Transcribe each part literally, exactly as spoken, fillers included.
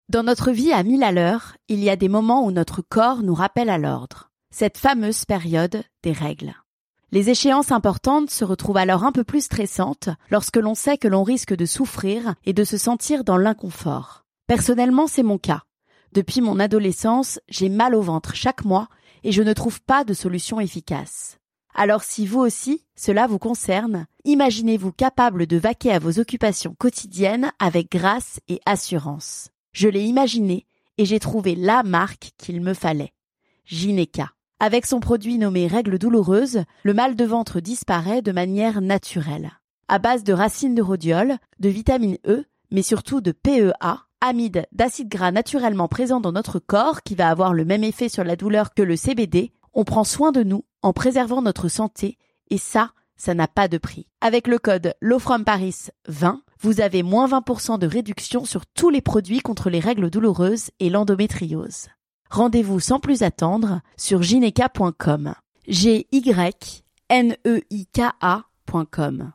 Dans notre vie à mille à l'heure, il y a des moments où notre corps nous rappelle à l'ordre. Cette fameuse période des règles. Les échéances importantes se retrouvent alors un peu plus stressantes lorsque l'on sait que l'on risque de souffrir et de se sentir dans l'inconfort. Personnellement, c'est mon cas. Depuis mon adolescence, j'ai mal au ventre chaque mois et je ne trouve pas de solution efficace. Alors si vous aussi, cela vous concerne, imaginez-vous capable de vaquer à vos occupations quotidiennes avec grâce et assurance. Je l'ai imaginé et j'ai trouvé la marque qu'il me fallait. Gyneka. Avec son produit nommé Règles douloureuses, le mal de ventre disparaît de manière naturelle. À base de racines de rhodiol, de vitamine E, mais surtout de P E A, amide d'acides gras naturellement présents dans notre corps qui va avoir le même effet sur la douleur que le C B D, on prend soin de nous en préservant notre santé et ça, ça n'a pas de prix. Avec le code LOWFROMPARIS vingt, vous avez moins vingt pour cent de réduction sur tous les produits contre les règles douloureuses et l'endométriose. Rendez-vous sans plus attendre sur gyneka point com. G Y N E I K A point com.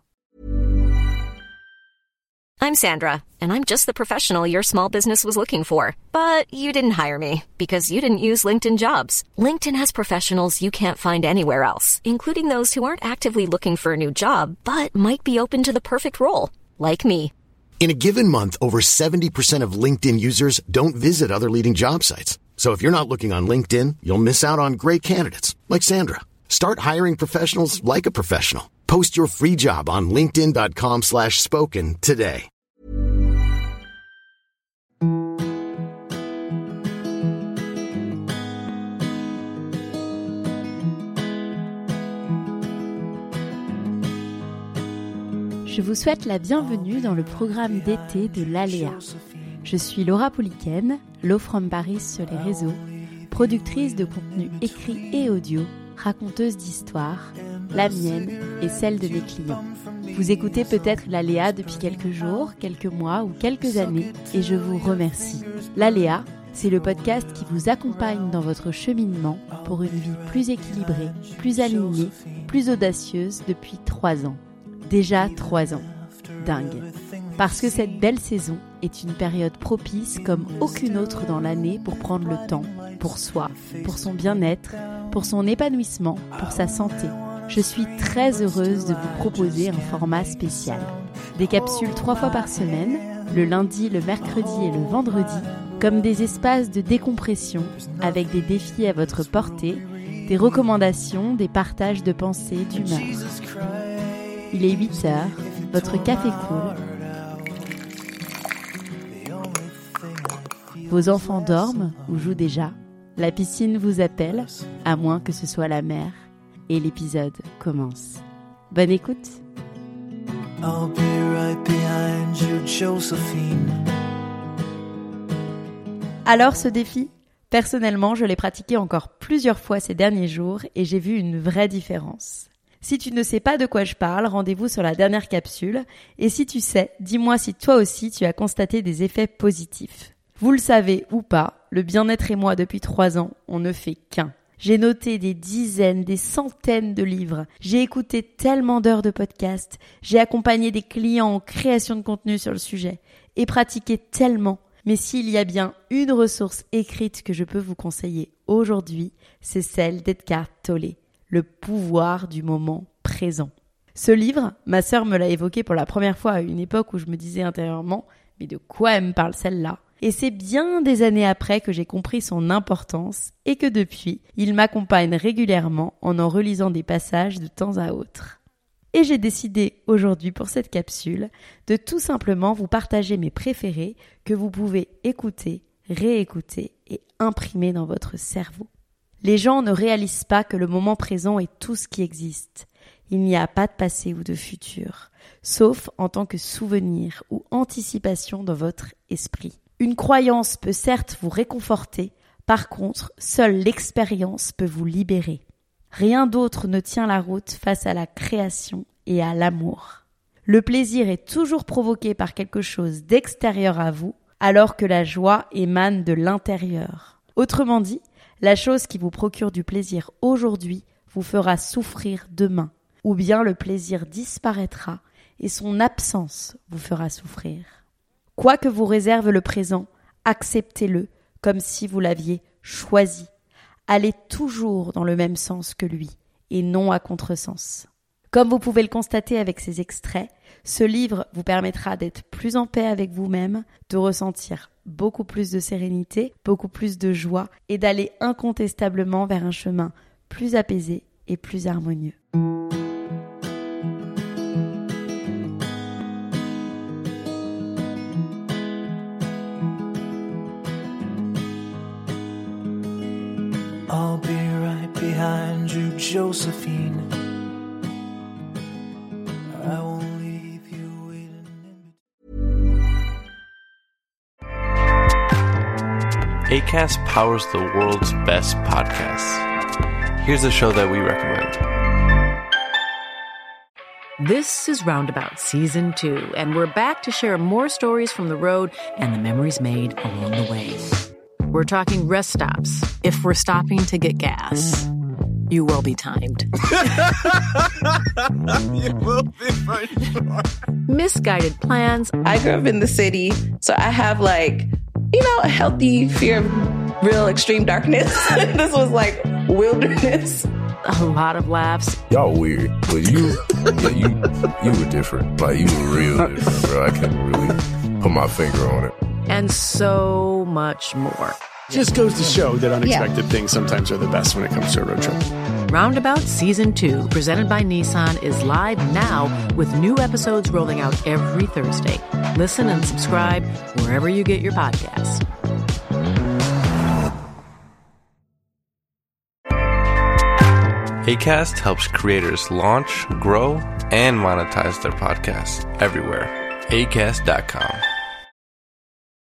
I'm Sandra, and I'm just the professional your small business was looking for. But you didn't hire me because you didn't use LinkedIn Jobs. LinkedIn has professionals you can't find anywhere else, including those who aren't actively looking for a new job, but might be open to the perfect role, like me. In a given month, over seventy percent of LinkedIn users don't visit other leading job sites. So if you're not looking on LinkedIn, you'll miss out on great candidates, like Sandra. Start hiring professionals like a professional. Post your free job on linkedin dot com slash spoken today. Je vous souhaite la bienvenue dans le programme d'été de l'Aléa. Je suis Laura Pouliken, Low From Paris sur les réseaux, productrice de contenu écrit et audio, raconteuse d'histoires, la mienne et celle de mes clients. Vous écoutez peut-être l'Aléa depuis quelques jours, quelques mois ou quelques années et je vous remercie. L'Aléa, c'est le podcast qui vous accompagne dans votre cheminement pour une vie plus équilibrée, plus alignée, plus audacieuse depuis trois ans. Déjà trois ans. Dingue. Parce que cette belle saison est une période propice comme aucune autre dans l'année pour prendre le temps, pour soi, pour son bien-être, pour son épanouissement, pour sa santé. Je suis très heureuse de vous proposer un format spécial. Des capsules trois fois par semaine, le lundi, le mercredi et le vendredi, comme des espaces de décompression avec des défis à votre portée, des recommandations, des partages de pensées, d'humeur. Il est huit heures, votre café coule. Vos enfants dorment ou jouent déjà. La piscine vous appelle, à moins que ce soit la mer. Et l'épisode commence. Bonne écoute. I'll be right behind you, Josephine. Alors ce défi, personnellement, je l'ai pratiqué encore plusieurs fois ces derniers jours et j'ai vu une vraie différence. Si tu ne sais pas de quoi je parle, rendez-vous sur la dernière capsule. Et si tu sais, dis-moi si toi aussi tu as constaté des effets positifs. Vous le savez ou pas, le bien-être et moi depuis trois ans, on ne fait qu'un. J'ai noté des dizaines, des centaines de livres. J'ai écouté tellement d'heures de podcasts. J'ai accompagné des clients en création de contenu sur le sujet. Et pratiqué tellement. Mais s'il y a bien une ressource écrite que je peux vous conseiller aujourd'hui, c'est celle d'Edgar Tolle. Le pouvoir du moment présent. Ce livre, ma sœur me l'a évoqué pour la première fois à une époque où je me disais intérieurement « Mais de quoi elle me parle celle-là ?» Et c'est bien des années après que j'ai compris son importance et que depuis, il m'accompagne régulièrement en en relisant des passages de temps à autre. Et j'ai décidé aujourd'hui pour cette capsule de tout simplement vous partager mes préférés que vous pouvez écouter, réécouter et imprimer dans votre cerveau. Les gens ne réalisent pas que le moment présent est tout ce qui existe. Il n'y a pas de passé ou de futur, sauf en tant que souvenir ou anticipation dans votre esprit. Une croyance peut certes vous réconforter, par contre, seule l'expérience peut vous libérer. Rien d'autre ne tient la route face à la création et à l'amour. Le plaisir est toujours provoqué par quelque chose d'extérieur à vous, alors que la joie émane de l'intérieur. Autrement dit, la chose qui vous procure du plaisir aujourd'hui vous fera souffrir demain, ou bien le plaisir disparaîtra et son absence vous fera souffrir. Quoi que vous réserve le présent, Acceptez-le comme si vous l'aviez choisi. Allez toujours dans le même sens que lui et non à contresens. Comme vous pouvez le constater avec ces extraits, ce livre vous permettra d'être plus en paix avec vous-même, de ressentir beaucoup plus de sérénité, beaucoup plus de joie et d'aller incontestablement vers un chemin plus apaisé et plus harmonieux. I'll be right behind you, Josephine. I won't leave you waiting. Acast powers the world's best podcasts. Here's a show that we recommend. This is Roundabout Season two, and we're back to share more stories from the road and the memories made along the way. We're talking rest stops. If we're stopping to get gas, you will be timed. You will be for sure. Misguided plans. I grew up in the city, so I have like, you know, a healthy fear of real extreme darkness. This was like wilderness. A lot of laughs. Y'all weird, but you, yeah, you, you were different. Like you were real different, bro. I can't really put my finger on it. And so much more. Just goes to show that unexpected yeah. things sometimes are the best when it comes to a road trip. Roundabout Season two, presented by Nissan, is live now with new episodes rolling out every Thursday. Listen and subscribe wherever you get your podcasts. Acast helps creators launch, grow, and monetize their podcasts everywhere. Acast dot com.